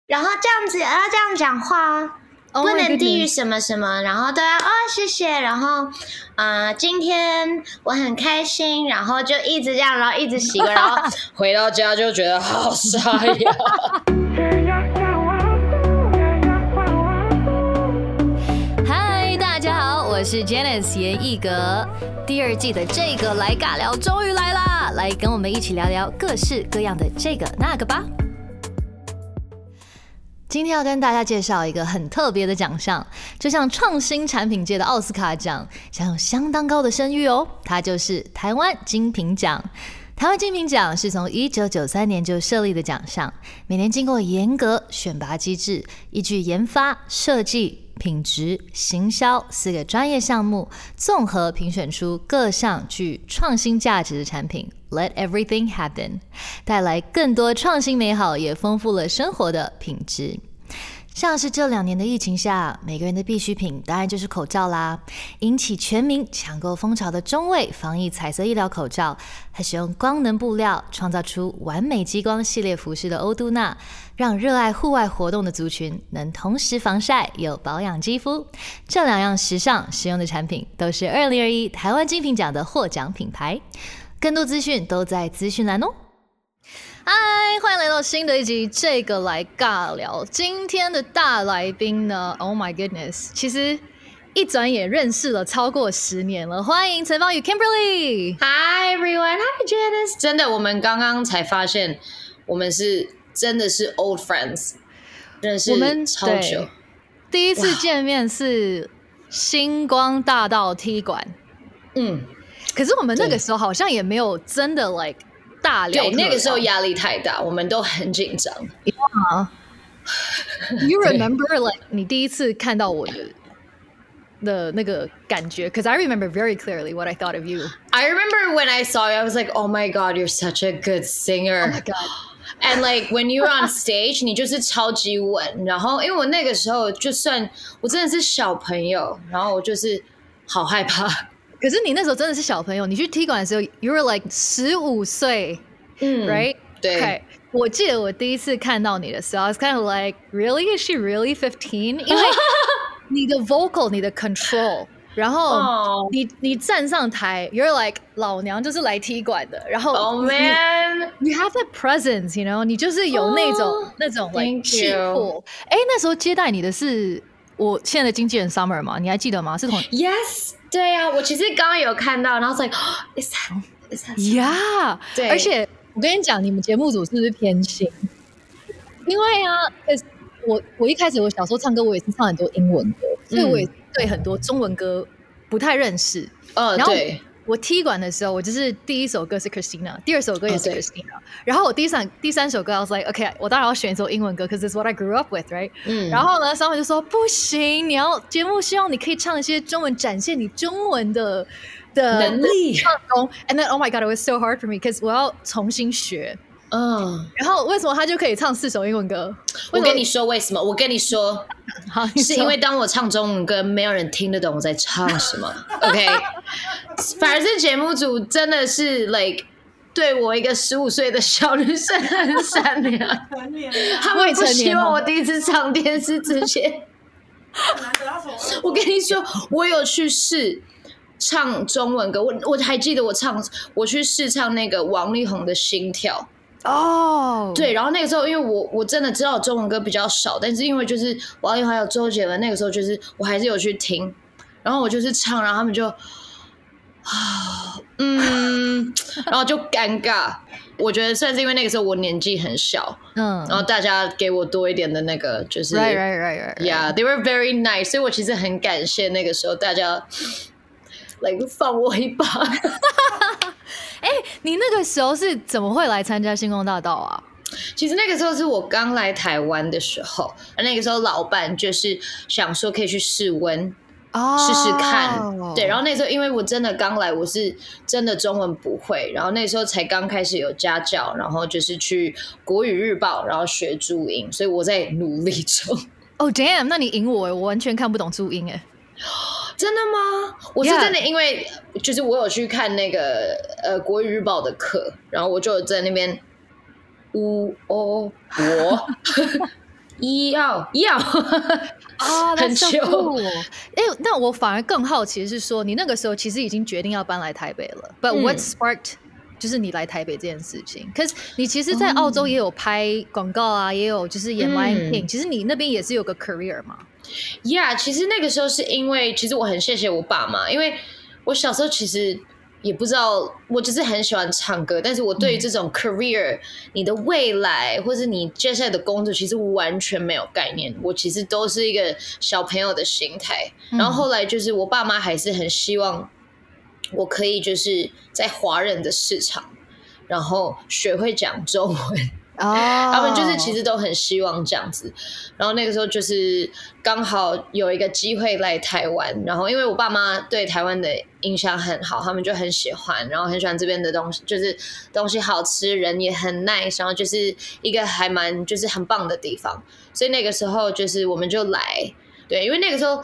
然后这样子要这样讲话不能低于什么什么，然后都要谢谢，然后今天我很开心，然后就一直这样，然后一直洗个，然后回到家就觉得好沙哑。 嗨，大家好，我是 Janice 严艺格。第二季的这个来尬聊终于来啦，来跟我们一起聊聊各式各样的这个那个吧。今天要跟大家介绍一个很特别的奖项，就像创新产品界的奥斯卡奖，享有相当高的声誉哦。它就是台湾精品奖。台湾精品奖是从1993年就设立的奖项，每年经过严格选拔机制，依据研发、设计、品质、行销4个专业项目，综合评选出各项具创新价值的产品。Let everything happen， 带来更多创新美好，也丰富了生活的品质。像是这2年的疫情下，每个人的必需品当然就是口罩啦。引起全民抢购风潮的中卫防疫彩色医疗口罩，还使用光能布料创造出完美激光系列服饰的欧都娜，让热爱户外活动的族群能同时防晒又保养肌肤。这2样时尚实用的产品都是2021台湾精品奖的获奖品牌。更多资讯都在资讯栏哦。嗨，欢迎来到新的一集这个来尬聊。今天的大来宾呢 ，Oh my goodness， 其实一转眼认识了超过10年了。欢迎陈芳宇 Kimberly。Hi everyone， Hi Janice。真的，我们刚刚才发现，我们真的是 old friends， 认识超久。 第一次见面是星光大道踢馆，可是我们那个时候好像也没有真的 like 大聊特聊。 对，那个时候压力太大，我们都很紧张。 You remember like 你第一次看到我的那个感觉 ？Because I remember very clearly what I thought of you. I remember when I saw you, I was like, "Oh my god, you're such a good singer!" Oh my god. And like when you were on stage, 你就是超级稳。然后因为我那个时候就算我真的是小朋友，然后我就是好害怕。 可是你那时候真的是小朋友，你去踢馆的时候 ，you were like 15岁，right？ 对。 Okay. 我记得我第一次看到你的时候 ，I was kind of like, really? Is she really 15? 因为你的 vocal, 你的 control， 然后你站上台 ，you're like 老娘就是来踢馆的，然后 ，Oh man, you have that presence, you know？ 你就是有那种 like 气魄。哎，那时候接待你的是我现在的经纪人 Summer 吗？你还记得吗？是同 Yes。对啊，我其实刚刚有看到，然后 like is that yeah， 对，而且我跟你讲，你们节目组是不是偏心？因为啊，我一开始我小时候唱歌，我也是唱很多英文歌，所以我也对很多中文歌不太认识。然后我踢馆的时候，我就是第一首歌是 Christina， 第2首歌也是 Christina，然后我第三首歌 I was like OK， 我当然要选一首英文歌 ，because it's what I grew up with， right？然后呢，Summer就说不行，你要节目希望你可以唱一些中文，展现你中文的能力。 唱功 ，and then Oh my God，it was so hard for me，because 我要重新学。然后为什么他就可以唱4首英文歌？ 我跟你说为什么？我跟你说，是因为当我唱中文歌，没有人听得懂我在唱什么。OK， 反而是节目组真的是 like 对我一个15岁的小女生很善良，他们不希望我第一次上电视之前。我跟你说，我有去试唱中文歌，我还记得我去试唱那个王力宏的《心跳》。对，然后那个时候因为我真的知道中文歌比较少，但是因为就是王力宏还有周杰伦，那个时候就是我还是有去听，然后我就是唱，然后他们就然后就尴尬。我觉得算是因为那个时候我年纪很小，然后大家给我多一点的那个就是 right. Yeah, they were very nice， 所以我其实很感谢那个时候大家like 放我一把。 你那个时候是怎么会来参加星光大道啊？ 其实那个时候是我刚来台湾的时候，那个时候老板就是想说可以去试温，试试看。对，然后那时候因为我真的刚来，我是真的中文不会，然后那时候才刚开始有家教，然后就是去国语日报，然后学注音，所以我在努力中。 Oh damn， 那你赢我完全看不懂注音真的吗？我是真的，因为就是我有去看那个国语日报的课，然后我就在那边我要啊， 很久。 久。 那我反而更好奇是说，你那个时候其实已经决定要搬来台北了。But what sparked 就是你来台北这件事情？可是你其实，在澳洲也有拍广告啊，也有就是演 live 片，其实你那边也是有个 career 嘛。 Yeah， 其实那个时候是因为，其实我很谢谢我爸妈，因为我小时候其实也不知道，我就是很喜欢唱歌，但是我对于这种 career，你的未来或是你接下来的工作，其实完全没有概念。我其实都是一个小朋友的心态，然后后来就是我爸妈还是很希望我可以就是在华人的市场，然后学会讲中文。他们就是其实都很希望这样子，然后那个时候就是刚好有一个机会来台湾，然后因为我爸妈对台湾的印象很好，他们就很喜欢，然后很喜欢这边的东西，就是东西好吃，人也很 nice， 然后就是一个还蛮就是很棒的地方，所以那个时候就是我们就来，对，因为那个时候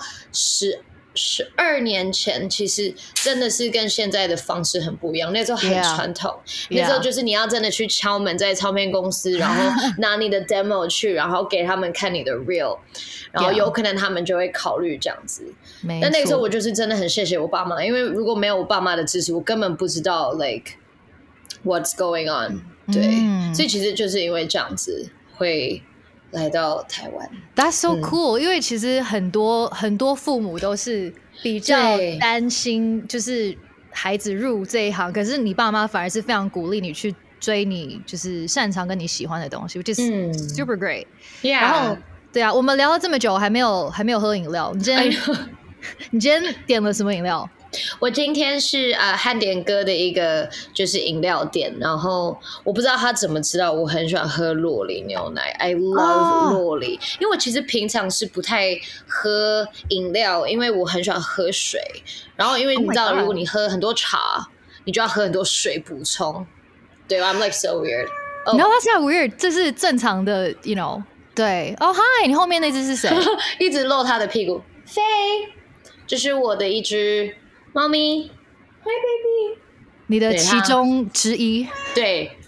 12年前其实真的是跟现在的方式很不一样，那时候很传统，那时候就是你要真的去敲门在唱片公司，然后拿你的 demo 去，然后给他们看你的 reel， 然后有可能他们就会考虑这样子。但那个时候我就是真的很谢谢我爸妈，因为如果没有我爸妈的支持，我根本不知道 like what's going on， 对，所以其实就是因为这样子会来到台湾。 That's so cool，因为其实很多父母都是比较担心就是孩子入这一行，可是你爸妈反而是非常鼓励你去追你就是擅长跟你喜欢的东西， which is super great。 然后对啊，我们聊了这么久还没有喝饮料，你今天点了什么饮料？ 我今天是汉典哥的一个就是饮料店，然后我不知道他怎么知道我很喜欢喝酪梨牛奶。I love 酪梨，因为我其实平常是不太喝饮料，因为我很喜欢喝水。然后因为你知道，如果你喝很多茶，你就要喝很多水补充。对 ，I'm like so weird。No, that's not weird， 这是正常的 ，you know。对，hi， 你后面那只是谁？ 一直露他的屁股。飞，这是我的一只猫咪。Hi baby， 你的其中之一。 对，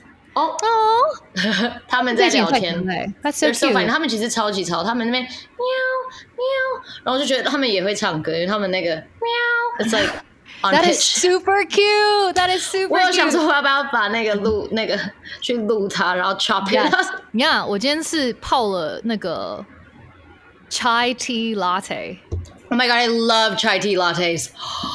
他们在聊天。 That's so cute。 他们其实超级吵，他们那边喵喵，然后我就觉得他们也会唱歌，因为他们那个喵 ，it's like on pitch。 That is super cute. That is super cute。 我有想说要不要把那个去录它，然后 chop it。 你看，我今天是泡了那个 chai tea latte。Oh my god, I love chai tea lattes.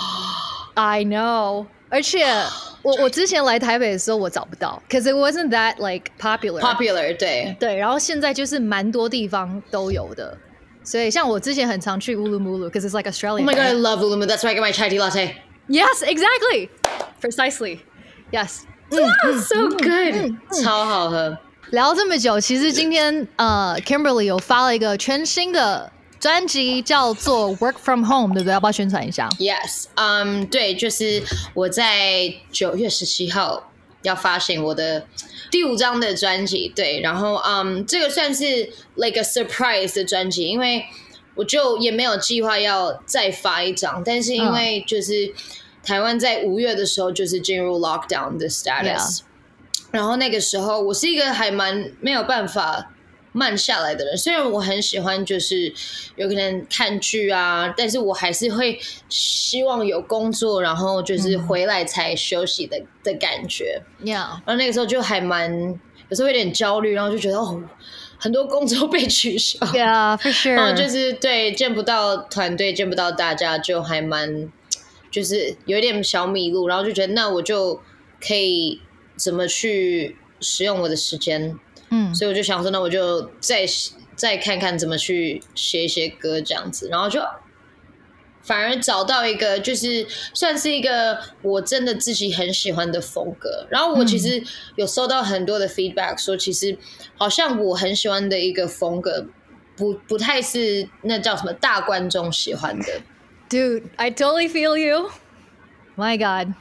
I know， 而且我之前来台北的时候我找不到 ，cause it wasn't that like popular。对，然后现在就是蛮多地方都有的，所以像我之前很常去 Ulumulu cause it's like Australian。 Oh my god, I love Ulumulu. That's where I get my chai tea latte. Yes, exactly, precisely. Yes, so good. 超好喝。 聊这么久，其实今天Kimberly 有发了一个全新的专辑叫做 Work From Home， 对不对？要不要宣传一下？ Yes， 对，就是我在9月17号要发行我的第5张的专辑，对，然后这个算是 like a surprise 的专辑，因为我就也没有计划要再发一张，但是因为就是台湾在5月的时候就是进入 lockdown 的 status，然后那个时候我是一个还蛮没有办法慢下来的人，虽然我很喜欢就是有可能看剧啊，但是我还是会希望有工作，然后就是回来才休息的感觉。然后那个时候就还蛮有时候有点焦虑，然后就觉得很多工作被取消。 Yeah, for sure。 然后就是对见不到团队，见不到大家，就还蛮就是有点小迷路，然后就觉得那我就可以怎么去使用我的时间。所以我就想说，那我就再看看怎么去写一些歌这样子，然后就反而找到一个就是算是一个我真的自己很喜欢的风格。然后我其实有收到很多的 feedback 说，其实好像我很喜欢的一个风格不太是那叫什么大观众喜欢的。 Dude, I totally feel you. My God.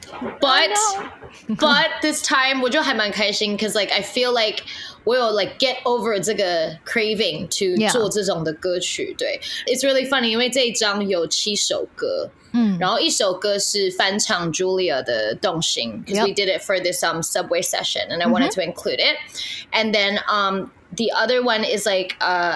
But this time 我就还蛮开心 cause like I feel like 我有 like get over 这个 craving to 做这种的歌曲。对 It's really funny 因为这一张有7首歌，然后1首歌是翻唱 Julia 的动心 cause we did it for this subway session and I wanted to include it, and then the other one is like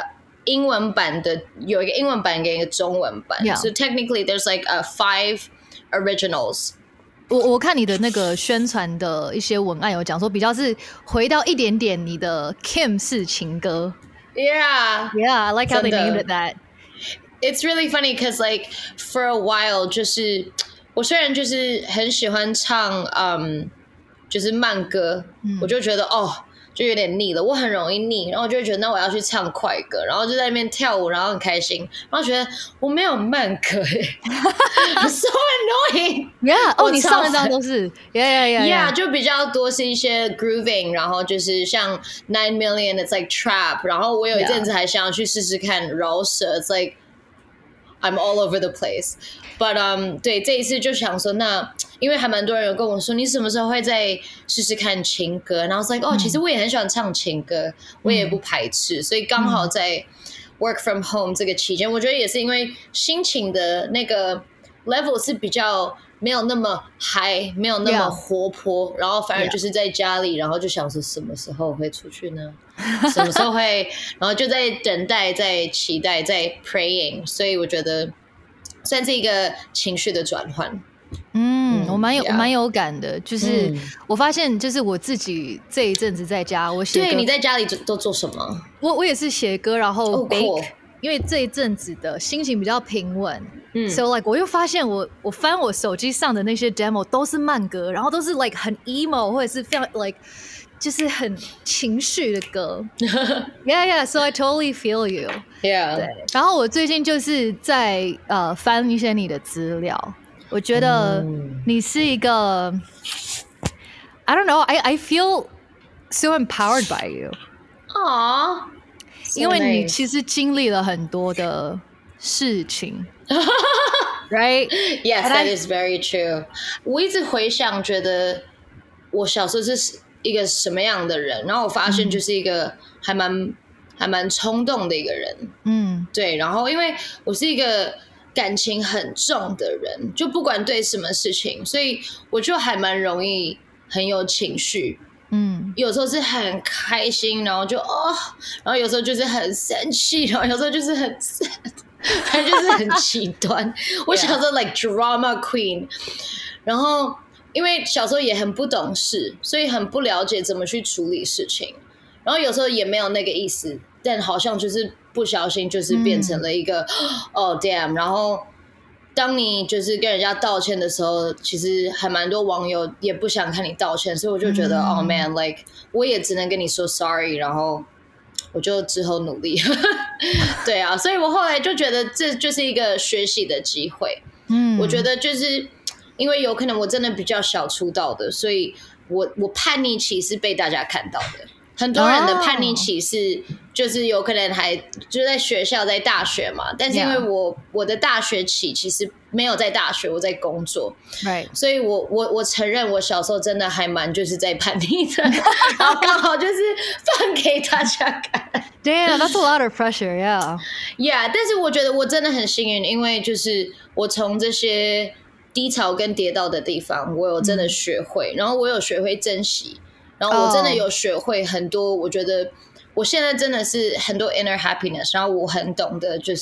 英文版的有一个英文版跟一个中文版 So technically there's like 5 originals 我看你的那个宣传的一些文案有讲说比较是回到一点点你的 Kim 式情歌 Yeah I like how they named it that It's really funny because like for a while 就是我虽然就是很喜欢唱就是慢歌我就觉得就有点腻了我很容易腻然后我就会觉得那我要去唱快歌然后就在那边跳舞然后很开心然后觉得我没有慢歌I'm so annoying Yeah 你上一张都是 Yeah 就比较多是一些 grooving 然后就是像 9 million it's like trap 然后我有一阵子还想要去试试看饶舌 It's like I'm all over the place But 对这一次就想说那因为还蛮多人有跟我说你什么时候会再试试看情歌然后 I was like 其实我也很喜欢唱情歌我也不排斥所以刚好在 work from home 这个期间我觉得也是因为心情的那个 level 是比较没有那么嗨没有那么活泼然后反而就是在家里然后就想说什么时候会出去呢什么时候会然后就在等待在期待在 praying 所以我觉得算是一个情绪的转换我蛮有感的就是我发现就是我自己这一阵子在家我写歌对你在家里都做什么我也是写歌然后 bake因为这一阵子的心情比较平稳so like 我又发现我翻我手机上的那些 demo 都是慢歌然后都是 like 很 emo 或者是非常 like 就是很情绪的歌yeah so I totally feel you 对然后我最近就是在翻一些你的资料我觉得你是一个 I don't know I feel so empowered by you Aww 因为你其实经历了很多的事情right Yes that is very true 我一直回想觉得我小时候是一个什么样的人然后我发现就是一个还蛮冲动的一个人对然后因为我是一个感情很重的人就不管对什么事情所以我就还蛮容易很有情绪有时候是很开心然后就然后有时候就是很生气然后有时候就是很 sad 反正就是很极端我小时候 like drama queen 然后因为小时候也很不懂事所以很不了解怎么去处理事情然后有时候也没有那个意思但好像就是不小心就是变成了一个damn 然后当你就是跟人家道歉的时候其实还蛮多网友也不想看你道歉所以我就觉得man like 我也只能跟你说 sorry 然后我就之后努力对啊所以我后来就觉得这就是一个学习的机会我觉得就是因为有可能我真的比较小出道的所以我叛逆期是被大家看到的很多人的叛逆期是就是有可能还就在学校在大学嘛但是因为我的大学期其实没有在大学我在工作所以我承认我小时候真的还蛮就是在叛逆的然后刚好就是放给大家看 Damn that's a lot of pressure yeah 但是我觉得我真的很幸运因为就是我从这些低潮跟跌倒的地方我有真的学会然后我有学会珍惜然后我真的有学会很多我觉得我现在真的是很多 inner happiness 然后我很懂得就是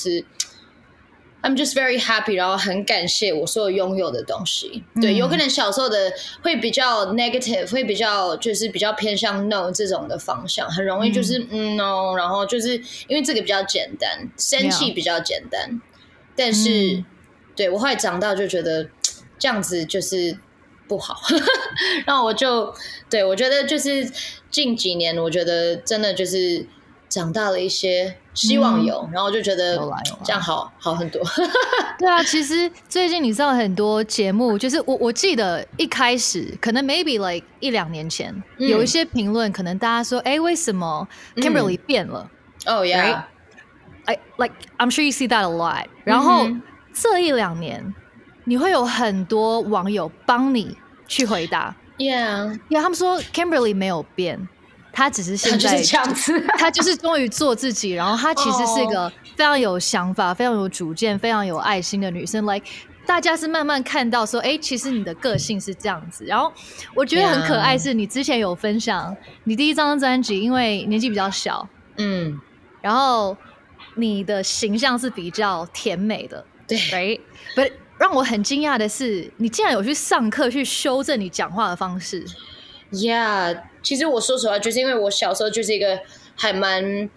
I'm just very happy 然后很感谢我所有拥有的东西对有可能小时候的会比较 negative 会比较就是比较偏向 no 这种的方向很容易就是no 然后就是因为这个比较简单生气比较简单但是对我后来长大就觉得这样子就是不好然后我就对我觉得就是近几年我觉得真的就是长大了一些希望有然后就觉得这样好很多对啊其实最近你知道很多节目就是我记得一开始可能 maybe like 1-2年前有一些评论可能大家说为什么 Kimberly 变了 yeah like I'm sure you see that a lot 然后这1-2年你会有很多网友帮你去回答 Yeah 他们说 Kimberly 没有变他只是现在就是这样子他就是终于做自己然后他其实是一个非常有想法非常有主见非常有爱心的女生 like 大家是慢慢看到说其实你的个性是这样子然后我觉得很可爱是你之前有分享你第一张专辑因为年纪比较小然后你的形象是比较甜美的， 对 ，right？ But 让我很惊讶的是，你竟然有去上课去修正你讲话的方式。 Yeah， 其实我说实话，就是因为我小时候就是一个还蛮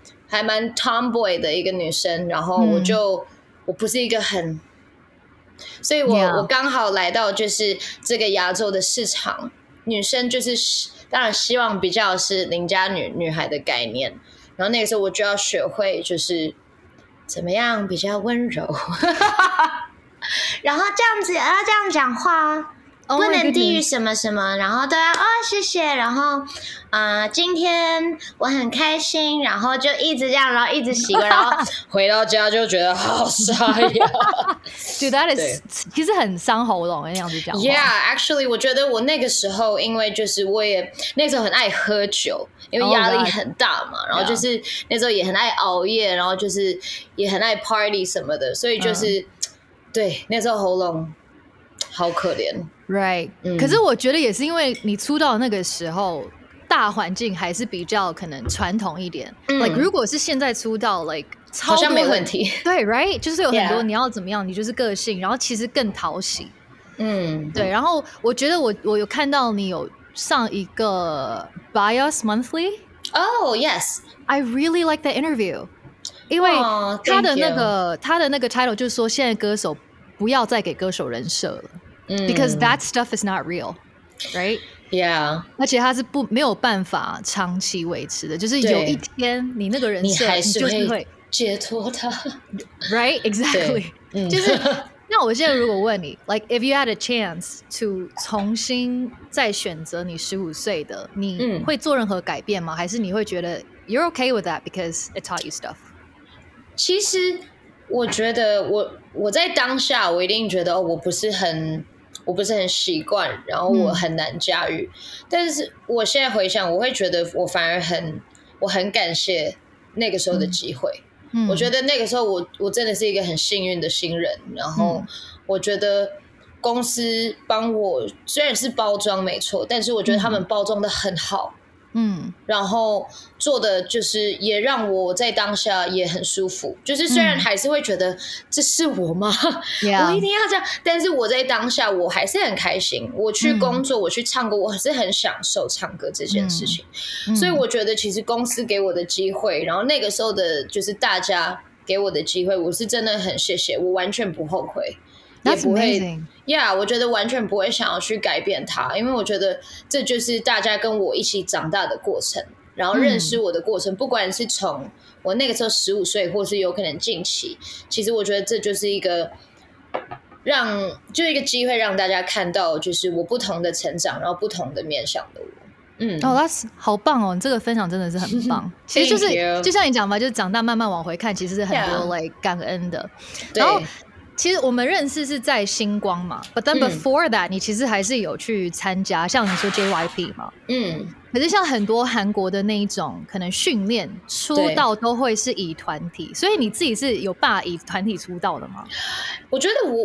tomboy 的一个女生，然后我不是一个很，所以我刚好来到就是这个亚洲的市场，女生就是当然希望比较是邻家女孩的概念，然后那个时候我就要学会就是怎么样比较温柔。然后这样子要这样讲话，不能低于什么什么，然后都要谢谢，然后今天我很开心，然后就一直这样，然后一直习惯，然后回到家就觉得好沙哑。 Dude, that is 其实很伤喉咙那样子讲话。 Yeah, actually， 我觉得我那个时候，因为就是我也那时候很爱喝酒，因为压力很大嘛，然后就是那时候也很爱熬夜，然后就是也很爱 party 什么的，所以就是对那时候喉咙好可怜。 Right，可是我觉得也是因为你出道那个时候，大环境还是比较可能传统一点。Like 如果是现在出道 ，like 好像没问题。 对 ，right， 就是有很多你要怎么样，你就是个性，然后其实更讨喜。对。然后我觉得我有看到你有上一个 Bias Monthly。Oh yes， I really like that interview， 因为他的那个 title 就是说，现在歌手不要再给歌手人设了。Because that stuff is not real, right? Yeah. 而且它是没有办法长期维持的，就是有一天你那个人设， 你还是会解脱它。 Right? Exactly. 就是那我现在如果问你 ，like if you had a chance to 重新再选择你15岁的，你会做任何改变吗？还是你会觉得 you're okay with that because it taught you stuff？ 其实我觉得我在当下，我一定觉得我不是很习惯，然后我很难驾驭。但是我现在回想，我会觉得我反而我很感谢那个时候的机会。我觉得那个时候我真的是一个很幸运的新人，然后我觉得公司帮我虽然是包装没错，但是我觉得他们包装的很好。然后做的就是也让我在当下也很舒服，就是虽然还是会觉得这是我吗？我一定要这样，但是我在当下我还是很开心。我去工作，我去唱歌，我还是很享受唱歌这件事情。所以我觉得其实公司给我的机会，然后那个时候的就是大家给我的机会，我是真的很谢谢，我完全不后悔。也不会 ，Yeah， 我觉得完全不会想要去改变它，因为我觉得这就是大家跟我一起长大的过程，然后认识我的过程，不管是从我那个时候15岁，或是有可能近期，其实我觉得这就是一个一个机会让大家看到，就是我不同的成长，然后不同的面向的我。 that's 好棒哦！你这个分享真的是很棒。其实就是就像你讲嘛，就是长大慢慢往回看，其实是很多like 感恩的。然后其实我们认识是在星光嘛 ，but then before that，你其实还是有去参加，像你说 JYP 嘛，可是像很多韩国的那一种，可能训练出道都会是以团体，所以你自己是有办法以团体出道的吗？ 我觉得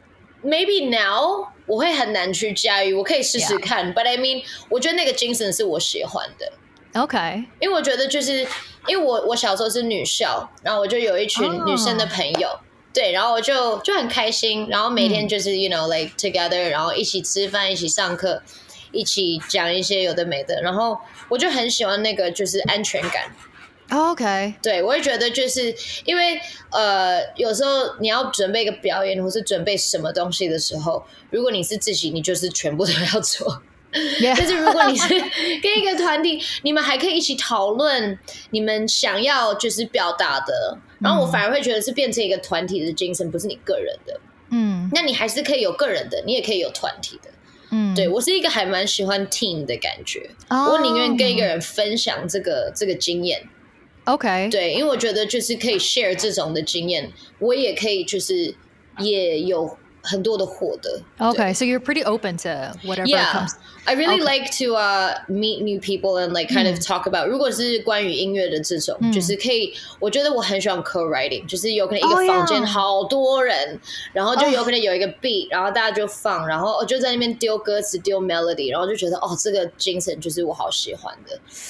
maybe now 我会很难去驾驭，我可以试试看 ，but I mean， 我觉得那个精神是我喜欢的。 OK， 因为我觉得就是因为我小时候是女校，然后我就有一群女生的朋友。对，然后我就很开心，然后每天就是 you know like together， 然后一起吃饭，一起上课，一起讲一些有的没的，然后我就很喜欢那个就是安全感。 OK， 对，我会觉得就是因为有时候你要准备一个表演或是准备什么东西的时候，如果你是自己，你就是全部都要做。但是如果你是跟一个团体，你们还可以一起讨论你们想要就是表达的，然后我反而会觉得是变成一个团体的精神，不是你个人的。那你还是可以有个人的，你也可以有团体的。对，我是一个还蛮喜欢 team 的感觉，我宁愿跟一个人分享这个经验。 OK， 对，因为我觉得就是可以 share 这种的经验，我也可以就是也有很多的获得。 Okay, so you're pretty open to whatever comes. I really like to meet new people and like kind of talk about. 如果是关于音乐的这种，就是可以，我觉得我很喜欢 co-writing， 就是有可能一个房间好多人，然后就有可能有一个 beat， 然后大家就放，然后就在那边丢歌词、丢 melody， 然后就觉得这个精神就是我好喜欢的。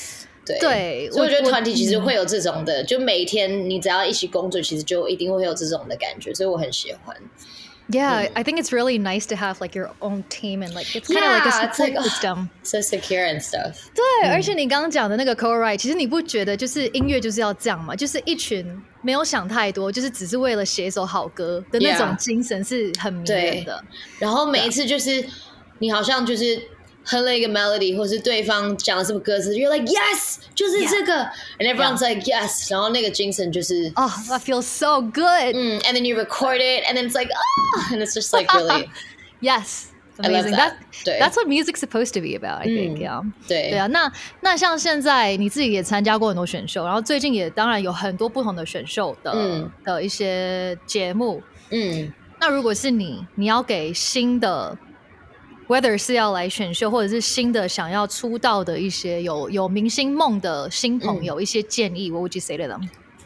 对， 所以我觉得团体其实会有这种的，就每一天你只要一起工作，其实就一定会有这种的感觉，所以我很喜欢。 Yeah, I think it's really nice to have like your own team and like it's kind of like a support system. So secure and stuff. 对，而且你刚刚讲的那个 co-write， 其实你不觉得就是音乐就是要这样嘛？就是一群没有想太多，就是只是为了写一首好歌的那种精神是很迷人的。 然后每一次就是你好像就是哼了一个 melody， 或是对方讲了什么歌词 ，you're like yes， 就是这个 ，and everyone's like yes， 然后那个精神就是 that feels so good。 and then you record it, and then it's like and it's just like really yes。 Amazing. That's what music's supposed to be about, I think. Yeah. 对啊，那像现在你自己也参加过很多选秀，然后最近也当然有很多不同的选秀的一些节目。那如果是你要给新的 whether 是要来选秀或者是新的想要出道的一些有明星梦的新朋友一些建议 what would you say to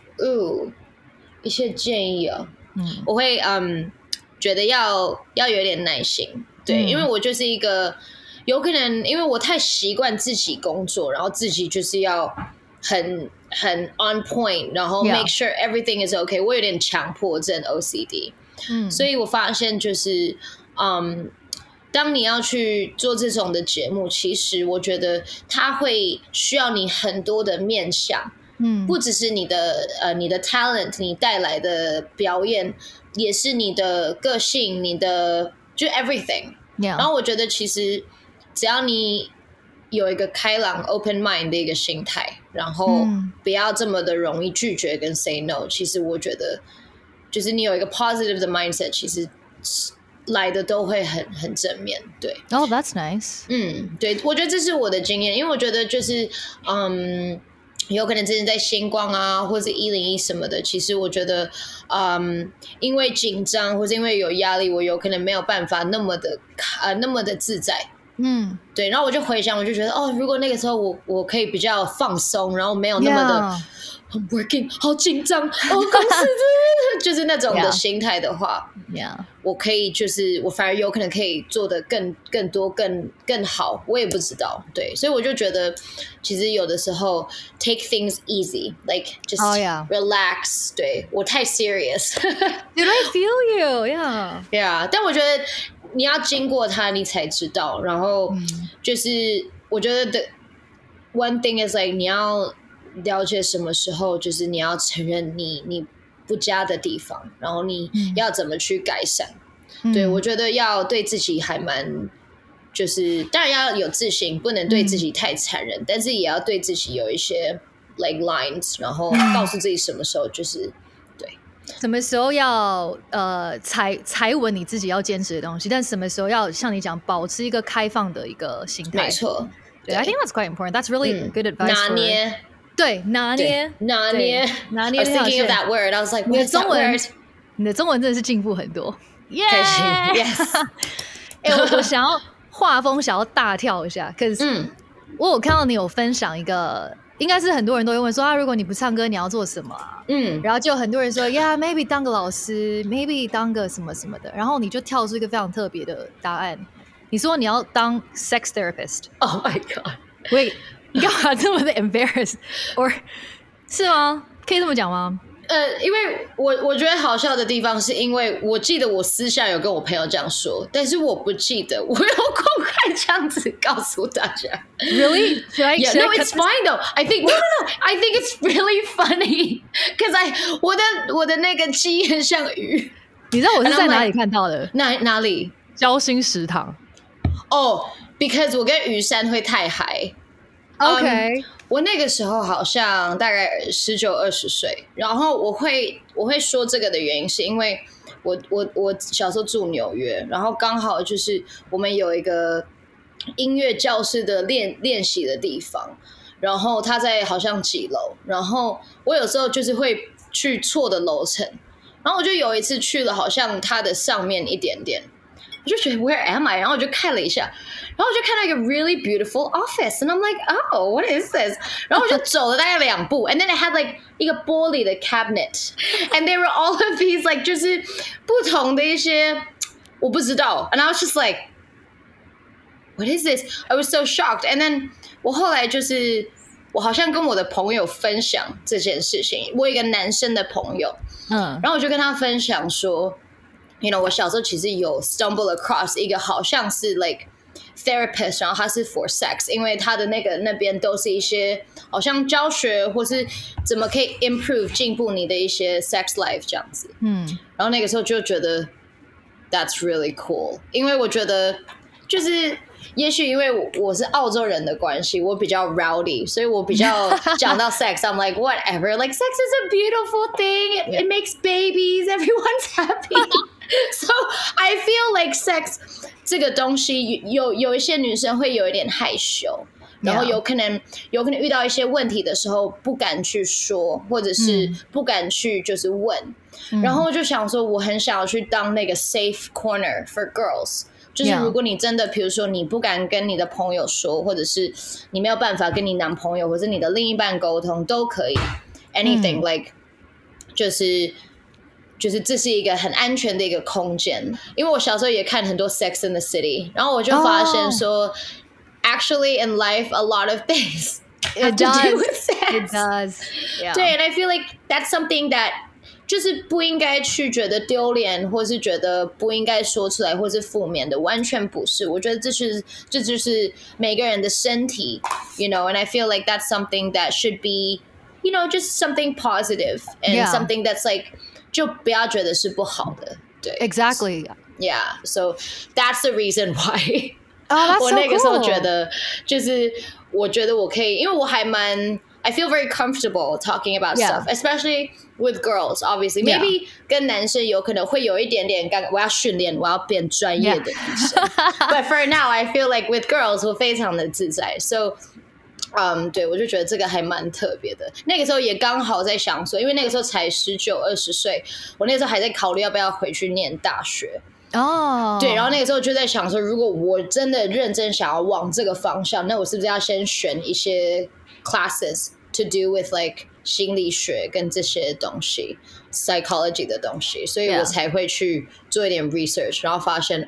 them？ 一些建议我会觉得要有点耐心，对，因为我就是一个有可能因为我太习惯自己工作，然后自己就是要很 on point， 然后 make sure everything is okay， 我有点强迫症 OCD，所以我发现就是当你要去做这种的节目，其实我觉得它会需要你很多的面向，不只是你的 talent， 你带来的表演，也是你的个性，你的就 everything。然后我觉得其实只要你有一个开朗 open mind 的一个心态，然后不要这么的容易拒绝跟 say no， 其实我觉得就是你有一个 positive 的 mindset， 其实来的都会很正面，对。 Oh, that's nice. 对，我觉得这是我的经验，因为我觉得就是有可能之前在星光啊，或是101什么的，其实我觉得因为紧张或是因为有压力，我有可能没有办法那么的自在。对，然后我就回想，我就觉得如果那个时候我可以比较放松，然后没有那么的I'm working 好紧张公司就是那种的心态的话，我可以就是我反而有可能可以做得更多更好，我也不知道，对，所以我就觉得其实有的时候 take things easy like just relax， 对，我太 serious Did I feel you? Yeah， 但我觉得你要经过它你才知道，然后就是我觉得 one thing is like 你要了解什么时候就是你要承认你不佳的地方，然后你要怎么去改善。对，我觉得要对自己还蛮就是当然要有自信，不能对自己太残忍，但是也要对自己有一些 like lines， 然后告诉自己什么时候就是对什么时候要踩稳你自己要坚持的东西，但什么时候要像你讲保持一个开放的一个心态。 没错， 对 I think that's quite important. That's really good advice. 拿捏， 对，拿捏。 I was thinking of that word. I was like, what's that word? 你的中文真的是进步很多， 开心 ，yes。 我想要画风想要大跳一下，可是我有看到你有分享一个，应该是很多人都会问说如果你不唱歌你要做什么然后就很多人说 yeah maybe 当个老师 maybe 当个什么什么的，然后你就跳出一个非常特别的答案，你说你要当 sex therapist。 Oh my god， Wait， 你干嘛这么的 embarrassed or 是吗？可以这么讲吗？ 因为我觉得好笑的地方是因为我记得我私下有跟我朋友这样说，但是我不记得我有公开这样子告诉大家。 Really? Yeah, no, it's fine though. I think no. I think it's really funny because 我的那个鸡很像鱼。 你知道我是在哪里看到的？ 哪里？ 交心食堂。 because 我跟于山会太嗨。 OK， 我那个时候好像大概19、20岁，然后我会说这个的原因是因为我小时候住纽约，然后刚好就是我们有一个音乐教室的练习的地方，然后他在好像几楼，然后我有时候就是会去错的楼层，然后我就有一次去了好像它的上面一点点，我就觉得 Where am I？ 然后我就看了一下，然后我就看到一个 really beautiful office and I'm like oh what is this？ 然后我就走了大概2步 and then it had like 一个玻璃的 cabinet and they were all of these like 就是不同的一些我不知道 and I was just like what is this？ I was so shocked and then 我后来就是我好像跟我的朋友分享这件事情，我有一个男生的朋友，然后我就跟他分享说 ，you know， 我小时候其实有 stumble across 一个好像是 like therapist， 然后他是 for sex， 因为他的那边都是一些好像教学或是怎么可以 improve 进步你的一些 sex life 这样子，然后那个时候就觉得 that's really cool， 因为我觉得就是也许因为我是澳洲人的关系，我比较 rowdy， 所以我比较讲到 sex I'm like whatever, like sex is a beautiful thing, it makes babies, everyone's happy so I feel like sex 这个东西有一些女生会有一点害羞，然后有可能遇到一些问题的时候不敢去说，或者是不敢去就是问，然后就想说我很想要去当那个 safe corner for girls， 就是如果你真的比如说你不敢跟你的朋友说，或者是你没有办法跟你男朋友或者你的另一半沟通都可以 anything like 就是这是一个很安全的一个空间，因为我小时候也看很多 Sex in the City， 然后我就发现说、actually in life a lot of things have to do with sex. It does. Yeah. 对 and I feel like that's something that 就是不应该去觉得丢脸，或是觉得不应该说出来，或是负面的，完全不是。我觉得这就是每个人的身体 you know, and I feel like that's something that should be you know, just something positive and something that's like就不要觉得是不好的，对 Exactly. Yeah, so that's the reason why 我那个时候觉得就是我觉得我可以，因为我还蛮I feel very comfortable talking about stuff, especially with girls, obviously. Maybe 跟男生有可能会有一点点尴尬，我要训练，我要变专业的女生。But for now, I feel like with girls, 我非常的自在。So, 对，我就觉得这个还蛮特别的。那个时候也刚好在想说，因为那个时候才19、20岁，我那个时候还在考虑要不要回去念大学。对，然后那个时候就在想说，如果我真的认真想要往这个方向，那我是不是要先选一些 classes to do with like 心理学跟这些东西 psychology 的东西，所以我才会去做一点 research， 然后发现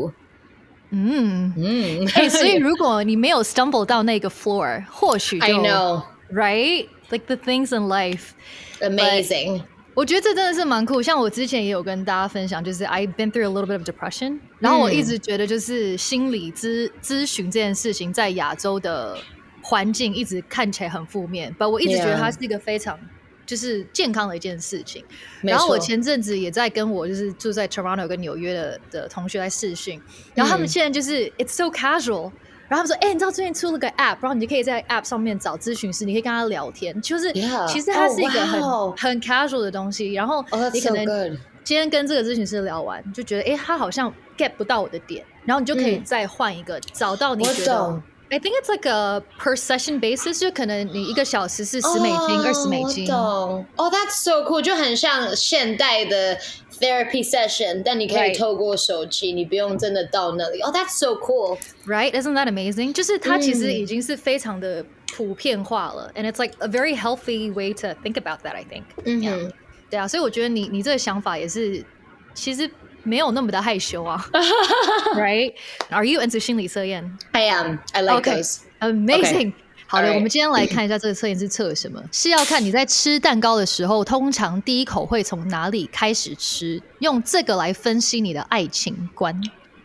所以如果你没有 stumble 到那个 floor， 或许就 I know right like the things in life amazing。 我觉得这真的是蛮酷，像我之前也有跟大家分享，就是 I've been through a little bit of depression， 然后我一直觉得就是心理咨询这件事情在亚洲的环境一直看起来很负面，但我一直觉得它是一个非常就是健康的一件事情。然后我前阵子也在跟我就是住在 Toronto 跟纽约的同学在视讯，然后他们现在就是 it's so casual， 然后他们说你知道最近出了个 app， 然后你就可以在 app 上面找咨询师，你可以跟他聊天，就是其实它是一个很 casual 的东西，然后你可能今天跟这个咨询师聊完就觉得他好像 get 不到我的点，然后你就可以再换一个找到你觉得I think it's like a per session basis， 就可能你1个小时是$10、$20。 我懂that's so cool， 就很像现代的 therapy session， 但你可以透过手机，你不用真的到那里。that's so cool， right? Isn't that amazing？ 就是它其实已经是非常的普遍化了，and it's like a very healthy way to think about that. I think。对啊，所以我觉得你这个想法也是，其实没有那么的害羞啊，right? Are you into 心理测验？ I am. I like those. Amazing. 好的，我们今天来看一下这个测验是测什么？是要看你在吃蛋糕的时候，通常第一口会从哪里开始吃，用这个来分析你的爱情观。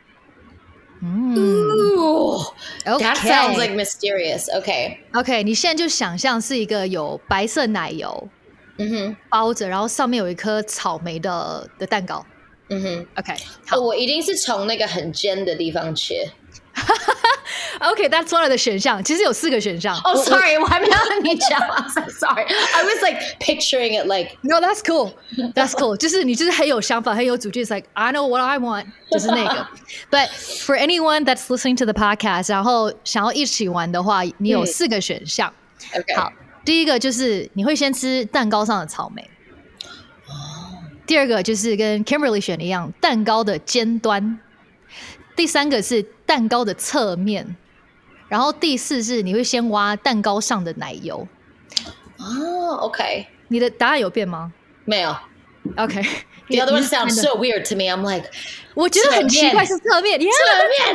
That sounds like mysterious. Okay, 你现在就想象是一个有白色奶油包着，然后上面有一颗草莓的蛋糕。OK， 好， 我一定是从那个很尖的地方切。 OK，that's one of the 选项，其实有4个选项。 Sorry， 我还没有跟你讲。I'm so sorry. I was like picturing it like No, that's cool. That's cool. 就是你就是很有想法，很有主见。It's like I know what I want， 就是那个。But for anyone that's listening to the podcast， 然后想要一起玩的话，你有4个选项。 OK， 好，第一个就是你会先吃蛋糕上的草莓。第二个就是跟 Kimberly 选的一样，蛋糕的尖端。第3个是蛋糕的侧面，然后第4是你会先挖蛋糕上的奶油。 OK， 你的答案有变吗？ 没有。 OK， The other one sounds so weird to me. I'm like， 我觉得很奇怪是侧面， 侧面。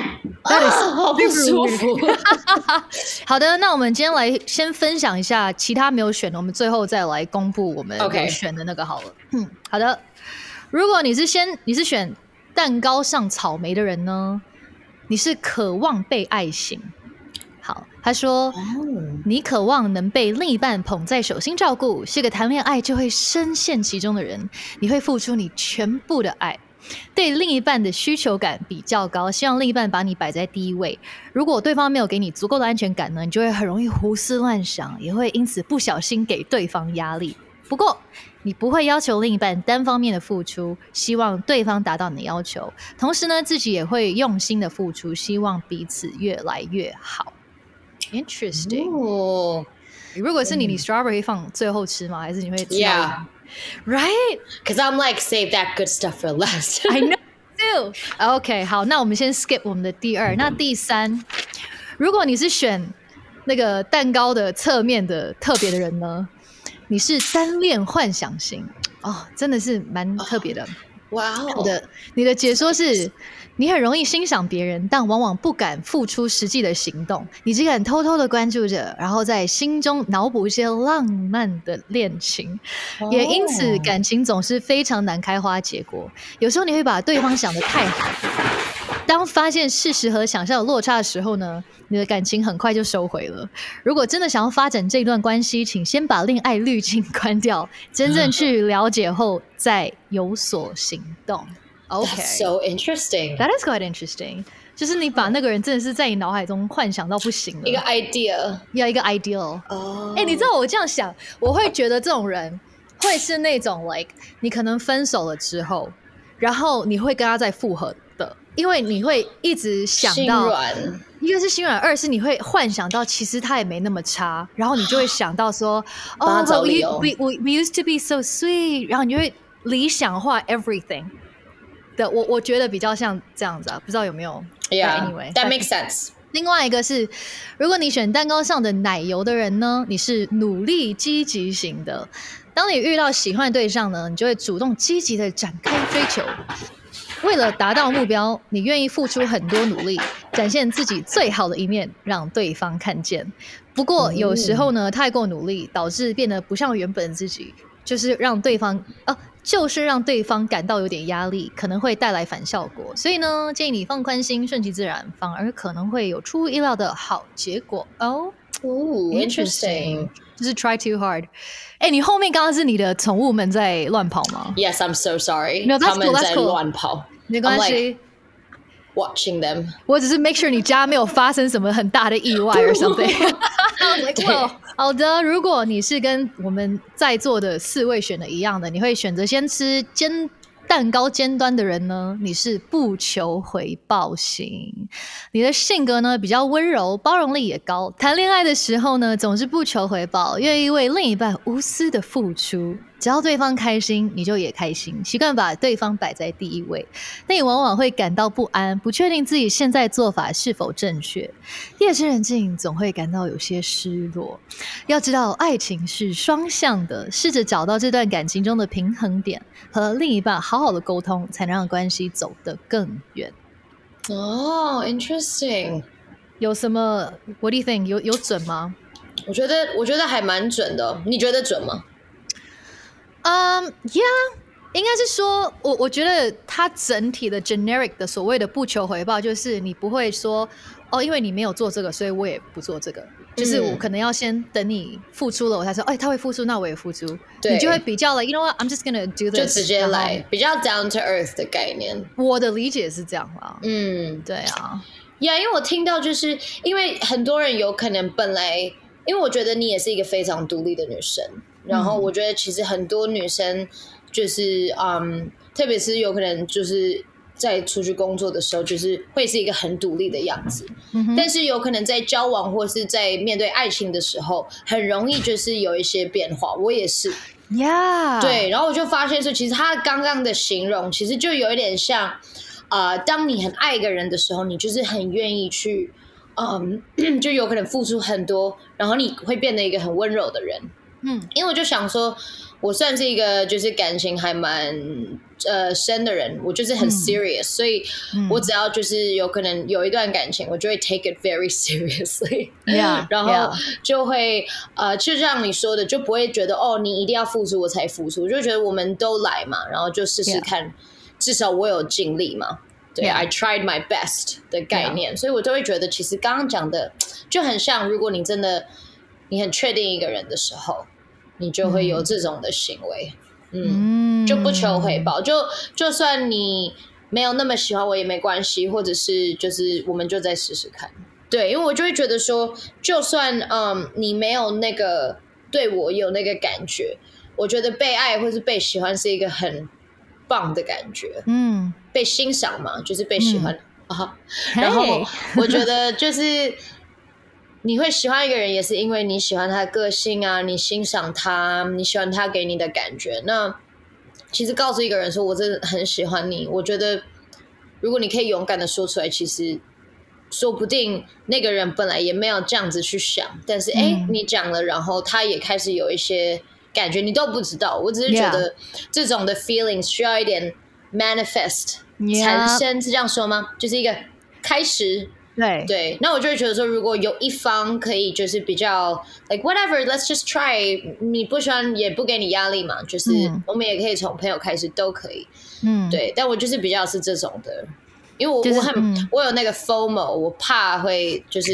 好不舒服。 好的，那我们今天来先分享一下其他没有选的，我们最后再来公布我们有选的那个好了。好的，如果你是选蛋糕上草莓的人呢，你是渴望被爱型。好，他说你渴望能被另一半捧在手心照顾，是个谈恋爱就会深陷其中的人，你会付出你全部的爱，对另一半的需求感比较高，希望另一半把你摆在第一位。如果对方没有给你足够的安全感呢，你就会很容易胡思乱想，也会因此不小心给对方压力。不过你不会要求另一半单方面的付出，希望对方达到你的要求，同时呢自己也会用心的付出，希望彼此越来越好。Interesting。如果是你 strawberry 放最后吃吗？还是你会吃 ？Yeah. Right? Because I'm like, save that good stuff for last. I know too. OK, 好，那我们先 skip 我们的第二。那第三，如果你是选那个蛋糕的侧面的特别的人呢，你是单恋幻想型哦，真的是蛮特别的。 哇哦！ 你的解说是，你很容易欣赏别人，但往往不敢付出实际的行动。你只敢偷偷的关注着，然后在心中脑补一些浪漫的恋情，也因此感情总是非常难开花结果。有时候你会把对方想得太好，当发现事实和想象有落差的时候呢，你的感情很快就收回了。如果真的想要发展这段关系，请先把恋爱滤镜关掉，真正去了解后再有所行动。Okay. That's so interesting. That is quite interesting. 就是你把那个人真的是在你脑海中幻想到不行了。 一个 idea. 要一个 ideal. 你知道我这样想，我会觉得这种人会是那种 like 你可能分手了之后，然后你会跟他再复合的，因为你会一直想到， 心软， 一个是心软，二是你会幻想到其实他也没那么差，然后你就会想到说帮他找理由。 we used to be so sweet， 然后你就会理想化 everything。我觉得比较像这样子啊，不知道有没有 ？Yeah, anyway, that makes sense. 另外一个是，如果你选蛋糕上的奶油的人呢，你是努力积极型的。当你遇到喜欢的对象呢，你就会主动积极的展开追求。为了达到目标，你愿意付出很多努力，展现自己最好的一面，让对方看见。不过有时候呢，太过努力导致变得不像原本自己，就是让对方感到有点压力，可能会带来反效果。所以呢，建议你放宽心，顺其自然，反而可能会有出乎意料的好结果哦。 Interesting. 就是 try too hard。你后面刚刚是你的宠物们在乱跑吗？ Yes, I'm so sorry. No, that's 他们 cool, that's 在 cool. 乱跑， 没关系。 watching them. 我只是 make sure 你家没有发生什么很大的意外 or something. I was like, well, 好的，如果你是跟我们在座的4位选的一样的，你会选择先吃蛋糕尖端的人呢，你是不求回报型。你的性格呢比较温柔，包容力也高。谈恋爱的时候呢，总是不求回报，愿意为另一半无私的付出。只要对方开心，你就也开心，习惯把对方摆在第一位。但你往往会感到不安，不确定自己现在做法是否正确。夜深人静，总会感到有些失落。要知道，爱情是双向的，试着找到这段感情中的平衡点，和另一半好好的沟通，才能让关系走得更远。 interesting. 有什么 What do you think? 有准吗？ 我觉得还蛮准的，你觉得准吗 ？Yeah， 应该是说，我觉得它整体的 generic 的所谓的不求回报，就是你不会说因为你没有做这个，所以我也不做这个。就是我可能要先等你付出了，我才说，他会付出，那我也付出。你就会比较了 ，you know what? I'm just gonna do this， 就直接来，比较 down to earth 的概念。 我的理解是这样啦。对啊。 因为我听到，就是因为很多人有可能本来，因为我觉得你也是一个非常独立的女生。然后我觉得其实很多女生就是特别是有可能就是在出去工作的时候，就是会是一个很独立的样子。但是有可能在交往或是在面对爱情的时候，很容易就是有一些变化。我也是。对，然后我就发现说，其实他刚刚的形容其实就有一点像当你很爱一个人的时候，你就是很愿意去就有可能付出很多，然后你会变得一个很温柔的人。 因为我就想说，我算是一个就是感情还蛮深的人，我就是很 serious，所以我只要就是有可能有一段感情，我就会 take it very seriously， 然后就会就像你说的，就不会觉得哦，你一定要付出我才付出，我就觉得我们都来嘛，然后就试试看，至少我有尽力嘛。对 I tried my best 的概念，所以我都会觉得，其实刚刚讲的就很像，如果你真的你很确定一个人的时候，你就会有这种的行为，就不求回报，就算你没有那么喜欢我也没关系，或者是就是我们就再试试看。对，因为我就会觉得说，就算你没有那个对我有那个感觉，我觉得被爱或是被喜欢是一个很棒的感觉，被欣赏嘛，就是被喜欢然后我觉得就是你会喜欢一个人，也是因为你喜欢他的个性啊，你欣赏他，你喜欢他给你的感觉。那其实告诉一个人说我真的很喜欢你，我觉得如果你可以勇敢的说出来，其实说不定那个人本来也没有这样子去想，但是你讲了，然后他也开始有一些感觉，你都不知道。我只是觉得这种的 feelings 需要一点 manifest 产生，是这样说吗？就是一个开始。对，那我就会觉得说，如果有一方可以就是比较 like whatever let's just try， 你不喜欢也不给你压力嘛，就是我们也可以从朋友开始都可以，对，但我就是比较是这种的，因为我有那个 FOMO， 我怕会就是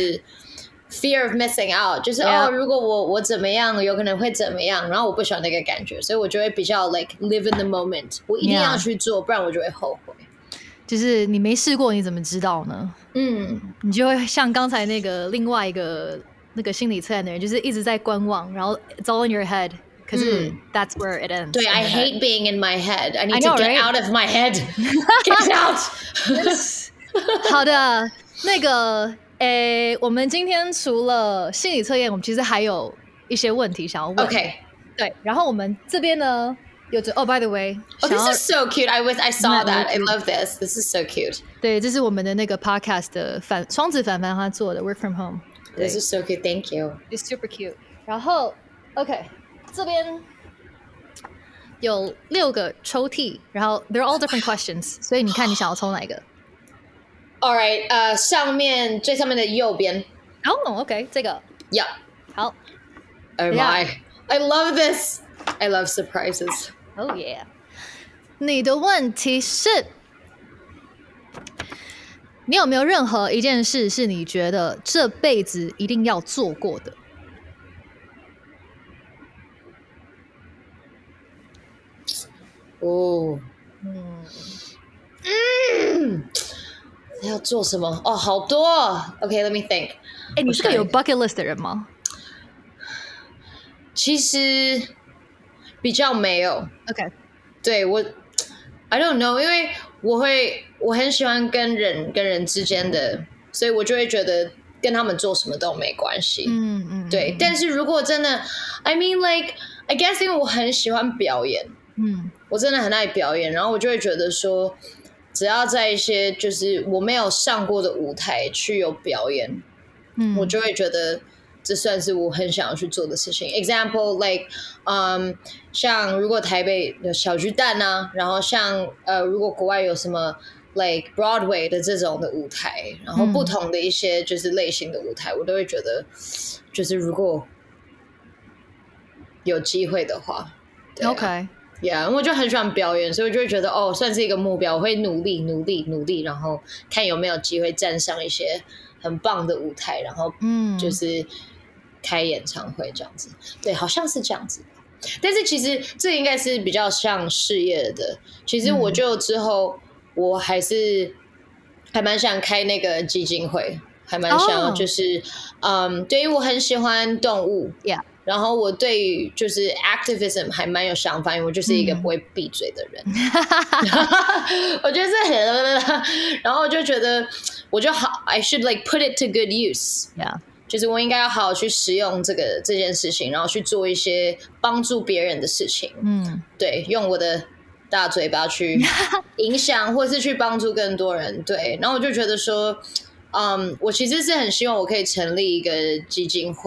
fear of missing out， 就是如果我怎么样有可能会怎么样，然后我不喜欢那个感觉，所以我就会比较 like live in the moment， 我一定要去做，不然我就会后悔。 就是你没试过你怎么知道呢？你就会像刚才那个另外一个那个心理测验的人，就是一直在观望，然后 it's all in your head， 可是 that's where it ends。 对 I hate being in my head， I need to get out of my head get out 好的，那个我们今天除了心理测验，我们其实还有一些问题想要问。 OK， 对，然后我们这边呢by the way， this is so cute. I saw that. I love this. This is so cute. 对，这是我们的那个 podcast 的双子凡凡他做的 work from home。 This is so cute. Thank you. It's super cute. 然后 OK， 这边有6个抽屉，然后 they're all different questions， 所以你看你想要抽哪一个？ All right， 最上面的右边。 OK， 这个 Yeah。 好。 Oh my， I love this. I love surprises. Oh yeah！ 你的问题是，你有没有任何一件事是你觉得这辈子一定要做过的？ 要做什么？好多。OK，let me think。 你是个有 bucket list 的人吗？ 其实比较没有。 OK， 对，我 I don't know， 因为我很喜欢跟人之间的，所以我就会觉得跟他们做什么都没关系。对。但是如果真的 I mean like I guess 因为我很喜欢表演，我真的很爱表演，然后我就会觉得说，只要在一些就是我没有上过的舞台去有表演，我就会觉得这算是我很想要去做的事情。 Example like 像如果台北有小巨蛋啊，然后像如果国外有什么 like Broadway 的这种的舞台，然后不同的一些就是类型的舞台，我都会觉得就是如果有机会的话。 OK， 因为我就很喜欢表演，所以我就会觉得算是一个目标，我会努力，然后看有没有机会站上一些很棒的舞台，然后就是开演唱会这样子。对，好像是这样子。但是其实这应该是比较像事业的。其实我就之后我还蛮想开那个基金会，还蛮想就是对，因为我很喜欢动物。然后我对于就是 activism 还蛮有想法，因为我就是一个不会闭嘴的人。我觉得这很，然后我就觉得我就好 I should like put it to good use。就是我应该要好好去使用这件事情，然后去做一些帮助别人的事情。对，用我的大嘴巴去影响，或是去帮助更多人。对，然后我就觉得说，我其实是很希望我可以成立一个基金会，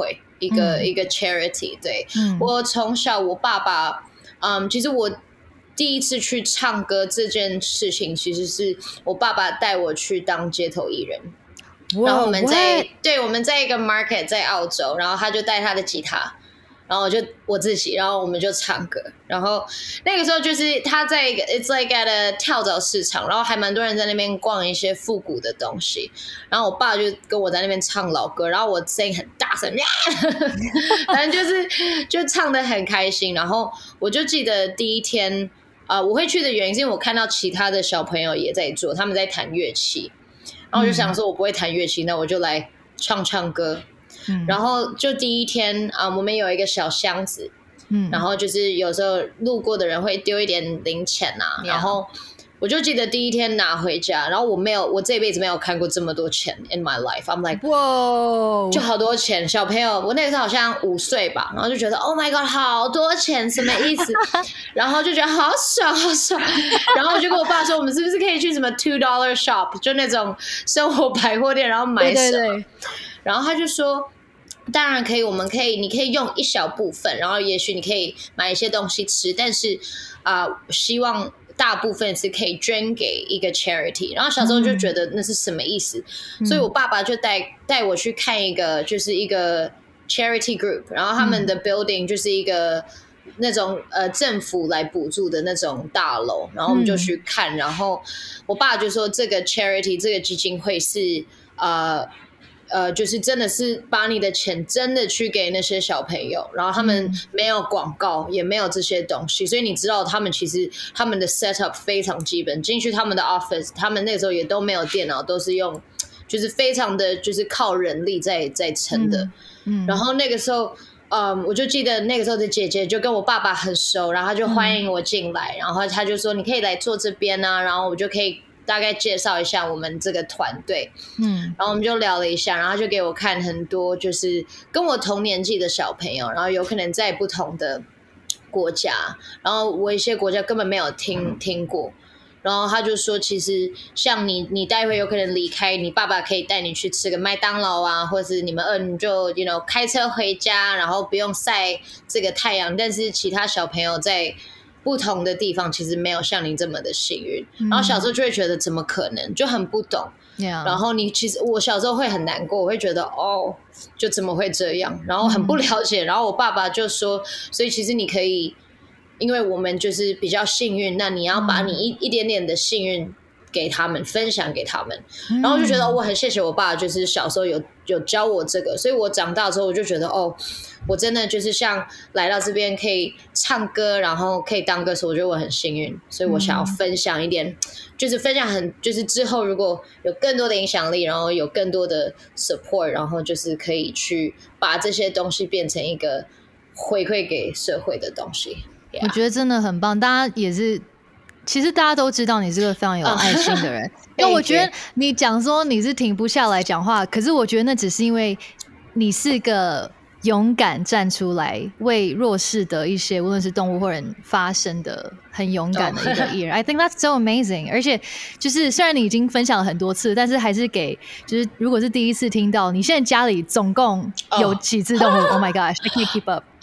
一个 charity。对，我从小我爸爸，其实我第一次去唱歌这件事情，其实是我爸爸带我去当街头艺人。然后我们在一个 market 在澳洲，然后他就带他的吉他，然后我自己，然后我们就唱歌。然后那个时候就是他在一个 it's like at a 跳蚤市场，然后还蛮多人在那边逛一些复古的东西。然后我爸就跟我在那边唱老歌，然后我声音很大声，反正就唱得很开心。然后我就记得第一天我会去的原因是因为我看到其他的小朋友也在做，他们在弹乐器。然后我就想说我不会弹乐器，那我就来唱歌。然后就第一天我们有一个小箱子，然后就是有时候路过的人会丢一点零钱然后我就记得第一天拿回家，然后我这辈子没有看过这么多钱 in my life。 I'm like wow， 就好多钱。小朋友，我那个时候好像5岁吧，然后就觉得 Oh my god 好多钱，什么意思？然后就觉得好爽好爽。然后我就跟我爸说我们是不是可以去什么$2 shop， 就那种生活百货店，然后买什么。对。然后他就说当然可以，你可以用一小部分，然后也许你可以买一些东西吃，但是希望大部分是可以捐给一个 charity。 然后小时候就觉得那是什么意思，所以我爸爸就带我去看一个就是一个 charity group， 然后他们的 building 就是一个那种政府来补助的那种大楼，然后我们就去看。然后我爸就说这个 charity 这个基金会是就是真的是把你的钱真的去给那些小朋友，然后他们没有广告也没有这些东西，所以你知道他们其实他们的 setup 非常基本，进去他们的 office 他们那个时候也都没有电脑，都是用就是非常的就是靠人力在撑的。然后那个时候我就记得那个时候的姐姐就跟我爸爸很熟，然后他就欢迎我进来，然后他就说你可以来坐这边啊，然后我就可以大概介绍一下我们这个团队。然后我们就聊了一下，然后就给我看很多就是跟我同年纪的小朋友，然后有可能在不同的国家，然后我一些国家根本没有听过。然后他就说其实像你待会有可能离开，你爸爸可以带你去吃个麦当劳啊，或者是你们你就开车回家，然后不用晒这个太阳。但是其他小朋友在不同的地方其实没有像你这么的幸运。然后小时候就会觉得怎么可能，就很不懂。然后其实我小时候会很难过，我会觉得就怎么会这样，然后很不了解。然后我爸爸就说所以其实你可以，因为我们就是比较幸运，那你要把你一点点的幸运给他们，分享给他们。然后就觉得我很谢谢我爸，就是小时候有教我这个，所以我长大之后我就觉得我真的就是像来到这边可以唱歌，然后可以当歌手，我觉得我很幸运，所以我想要分享一点，就是分享就是之后如果有更多的影响力，然后有更多的 support， 然后就是可以去把这些东西变成一个回馈给社会的东西。 我觉得真的很棒，大家也是，其实大家都知道你是个非常有爱心的人。因为我觉得你讲说你是停不下来讲话，可是我觉得那只是因为你是个勇敢站出来为弱势的一些无论是动物或人发声的很勇敢的一个艺人。I think that's so amazing。 而且就是虽然你已经分享了很多次，但是还是给就是如果是第一次听到，你现在家里总共有几只动物？Oh my gosh, I can't keep up。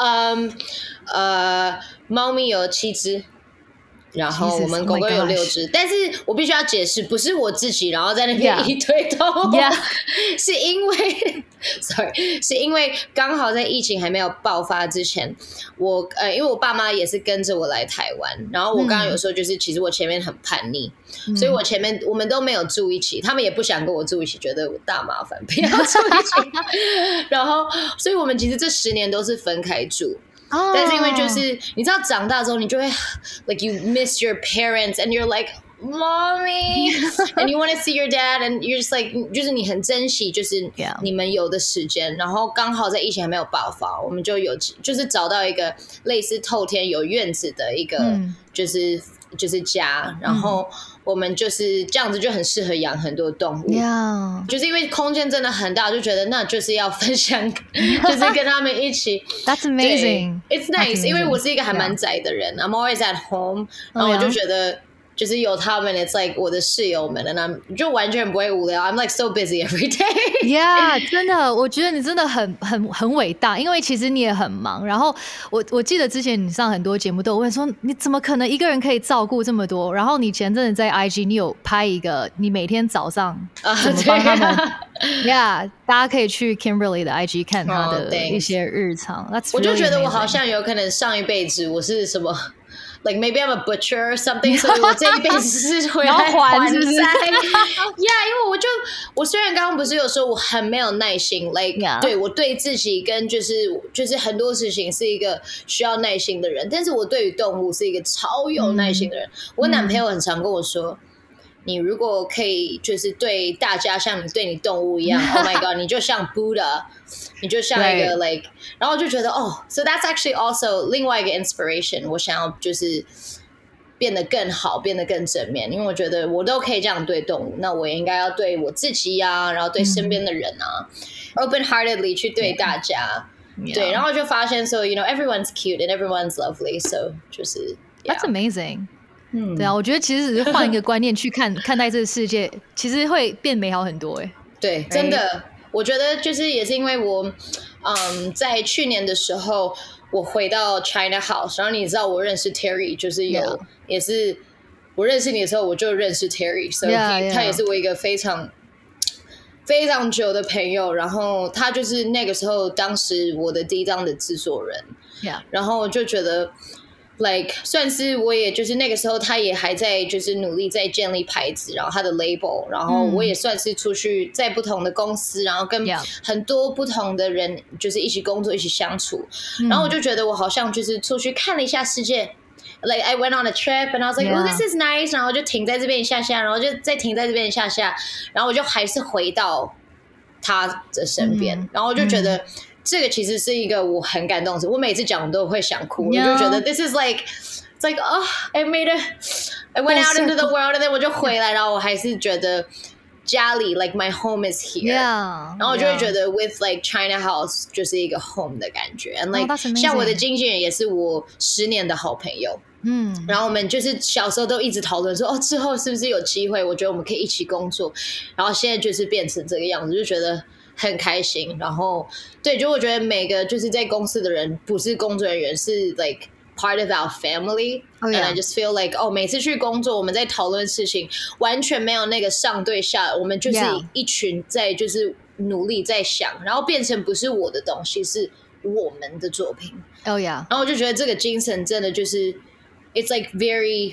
猫咪有7只，然后我们狗狗有6只。但是我必须要解释，不是我自己然后在那边一堆动物，是因为sorry， 是因为刚好在疫情还没有爆发之前，因为我爸妈也是跟着我来台湾，然后我刚刚有说就是其实我前面很叛逆，所以我前面我们都没有住一起，他们也不想跟我住一起，觉得我大麻烦，不要住一起。然后所以我们其实这10年都是分开住。但是因为就是你知道长大之后你就会 like you miss your parents and you're like mommy and you want to see your dad and you're just like 就是你很珍惜就是你们有的时间。然后刚好在疫情还没有爆发，我们就是找到一个类似透天有院子的一个就是家，然后我们就是这样子就很适合养很多动物。就是因为空间真的很大，就觉得那就是要分享就是跟他们一起。 That's amazing. It's nice. 因为我是一个还蛮宅的人，I'm always at home， 然后我就觉得就是有他们 ，it's like 我的室友们 ，and I'm 就完全不会无聊。I'm like so busy every day. Yeah， 真的，我觉得你真的很伟大，因为其实你也很忙。然后我记得之前你上很多节目都有问说，你怎么可能一个人可以照顾这么多？然后你前阵子在 IG 你有拍一个，你每天早上怎么帮他们？Yeah， 大家可以去 Kimberly 的 IG 看他的一些日常。That's really 我就觉得 amazing. 我好像有可能上一辈子我是什么。Like maybe I'm a butcher or something， 所以我这一辈子是回来还债。Yeah， 因为我虽然刚刚不是有说我很没有耐心 ，like 对我对自己跟就是很多事情是一个需要耐心的人，但是我对于动物是一个超有耐心的人。我男朋友很常跟我说。你如果可以就是对大家像你对你动物一样，Oh my god， 你就像 Buddha， 你就像一个 like， 然后我就觉得so that's actually also 另外一个 inspiration， 我想要就是变得更好，变得更正面，因为我觉得我都可以这样对动物，那我也应该要对我自己啊，然后对身边的人啊，open-heartedly 去对大家，对，然后就发现 so you know everyone's cute and everyone's lovely， so 就是 That's amazing。对啊，我觉得其实只是换一个观念去看待这个世界，其实会变美好很多哎。 对，真的，我觉得就是也是因为我，在去年的时候我回到 China House， 然后你知道我认识 Terry， 就是也是我认识你的时候我就认识 Terry， 所以他也是我一个非常非常久的朋友，然后他就是那个时候当时我的第一张的制作人，然后我就觉得。Like 算是我也就是那个时候他也还在就是努力在建立牌子，然后他的 label， 然后我也算是出去在不同的公司，然后跟很多不同的人就是一起工作一起相处，然后我就觉得我好像就是出去看了一下世界。Like I went on a trip and I was like, oh, this is nice. 然后就停在这边一下下，然后就再停在这边一下下，然后我就还是回到他的身边，然后我就觉得。这个其实是一个我很感动的事，我每次讲我都会想哭，我就觉得 this is like it's like I went out into the world and then 我就回来，然后我还是觉得家里 like my home is here， 然后我就会觉得 with like China House 就是一个 home 的感觉 and like 像我的经纪人也是我10年的好朋友，然后我们就是小时候都一直讨论说之后是不是有机会，我觉得我们可以一起工作，然后现在就是变成这个样子，就觉得很开心，然后对，就我觉得每个就是在公司的人不是工作人员，是 like part of our family、and I just feel like 每次去工作我们在讨论事情完全没有那个上对下，我们就是一群在就是努力在想，然后变成不是我的东西，是我们的作品。然后我就觉得这个精神真的就是it's like very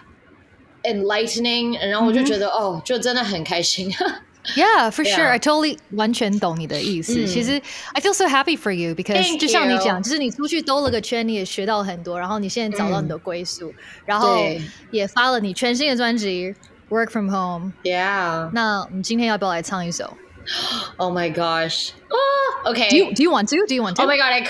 enlightening， 然后我就觉得就真的很开心。 Yeah, for sure. I totally 完全懂你的意思。其实 I feel so happy for you because 就像你讲，就是你出去兜了个圈，你也学到很多，然后你现在找到你的归宿，然后也发了你全新的专辑 Work From Home。 Yeah. 那我们今天要不要来唱一首 ？Oh my gosh. Okay. Do you want to? Do you want to? Oh my god!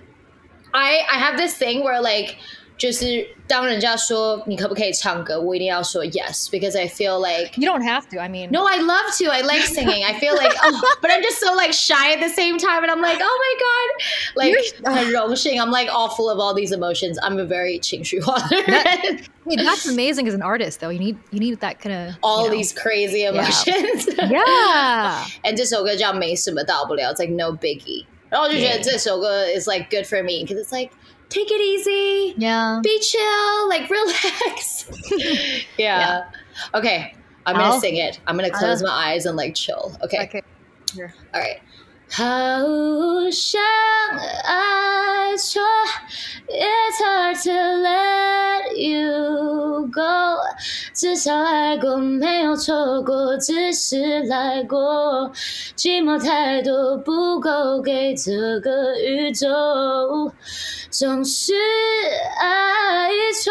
I have this thing where like. 就是当人家说你可不可以唱歌，我一定要说 yes because I feel like you don't have to. I mean, no, I love to. I like singing. I feel like but I'm just so like shy at the same time, and I'm like, oh my god, like 很荣幸 I'm like all full of all these emotions. I'm a very 情绪化的人。 That's amazing as an artist, though. You need that kind of all these crazy emotions. Yeah. And 这首歌叫没什么大不了 ，It's like no biggie. 然后我就觉得这首歌 is like good for me because it's like. Take it easy. Be chill. Like, relax. Yeah. Okay. I'm going to sing it. I'm going to close my eyes and, like, chill. Okay. Here. All right. 好想爱错 It's hard to let you go 至少爱过没有错过只是来过寂寞太多不够给这个宇宙总是爱错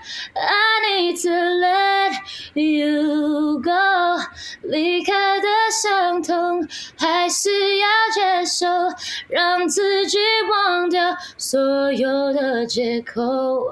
I need to let you go 离开的伤痛还是要接受让自己忘掉所有的借口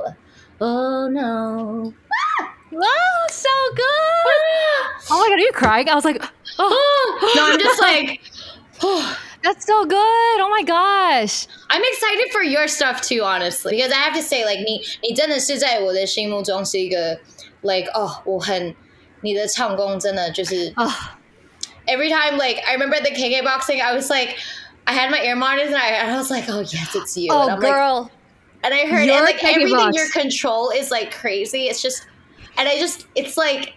Oh no Wow, so good! Oh my god, are you crying? I was like, No, I'm just like That's so good! Oh my gosh! I'm excited for your stuff too, honestly. Because I have to say, like, 你真的是在我的心目中是一个 like 你的唱功真的就是 every time like I remember at the KK boxing I was like I had my ear monitors and I was like oh yes it's you oh and I'm girl like, and I heard and like everything your control is like crazy it's just and it's like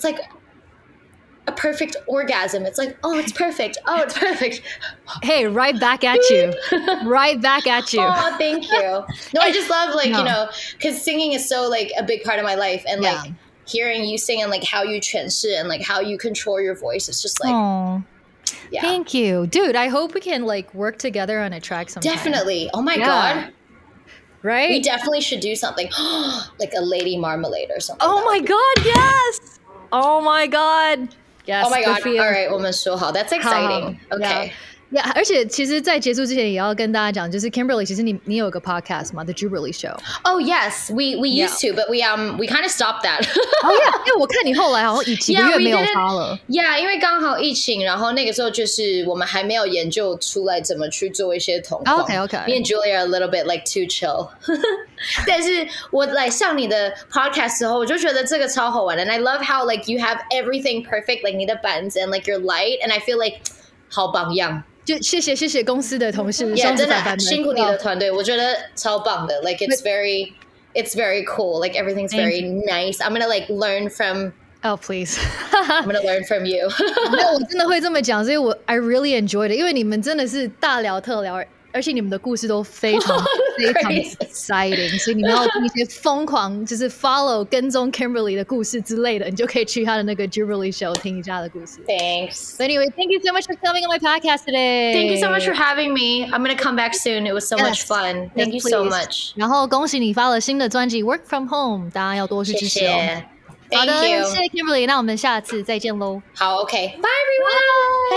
a perfect orgasm. It's like, oh, it's perfect. Oh, it's perfect. Hey, right back at you. Right back at you. Oh, thank you. No, I just love like, you know, because singing is so like a big part of my life. And like hearing you sing and like how you 诠释 and like how you control your voice. It's just like, yeah. Thank you. Dude, I hope we can like work together on a track sometime. Definitely. Oh my God. Right? We definitely should do something like a Lady Marmalade or something. Oh my God, yes. Oh my God. Yes, oh my God! All right, 我们说好 That's exciting. Okay. Yeah, 而且其实，在结束之前也要跟大家讲，就是 Kimberly， 其实你有个 podcast 嘛 ，The Jubilee Show. Oh yes, we used to, but we kind of stopped that. Oh yeah, 因为我看你后来好像几个月没有发了。 Yeah, 因为刚好疫情，然后那个时候就是我们还没有研究出来怎么去做一些同框。 Okay. Me and Julia are a little bit like too chill. 但是我来上你的 podcast 之后，我就觉得这个超好玩的。And I love how like you have everything perfect, like 你的板子 and like your light, and I feel like 好榜样。 就谢谢公司的同事， 真的辛苦你的团队，我觉得超棒的。Like it's very cool. Like everything's very nice. I'm gonna like learn from. Oh please. I'm gonna learn from you. 没有，我真的会这么讲，所以I really enjoyed it， 因为你们真的是大聊特聊。而且你们的故事都非常非常 exciting， 所以你们要一些疯狂，就是 follow 跟踪 Kimberly 的故事之类的，你就可以去他的那个 Jubilee Show 听一下的故事。 Thanks. But anyway, thank you so much for coming on my podcast today. Thank you so much for having me. I'm gonna come back soon. It was so much fun. Thank you so much. 然后恭喜你发了新的专辑 Work From Home， 大家要多去支持哦。 谢谢。 好的， 谢谢 Kimberly， 那我们下次再见喽。 好 ，OK，Bye everyone.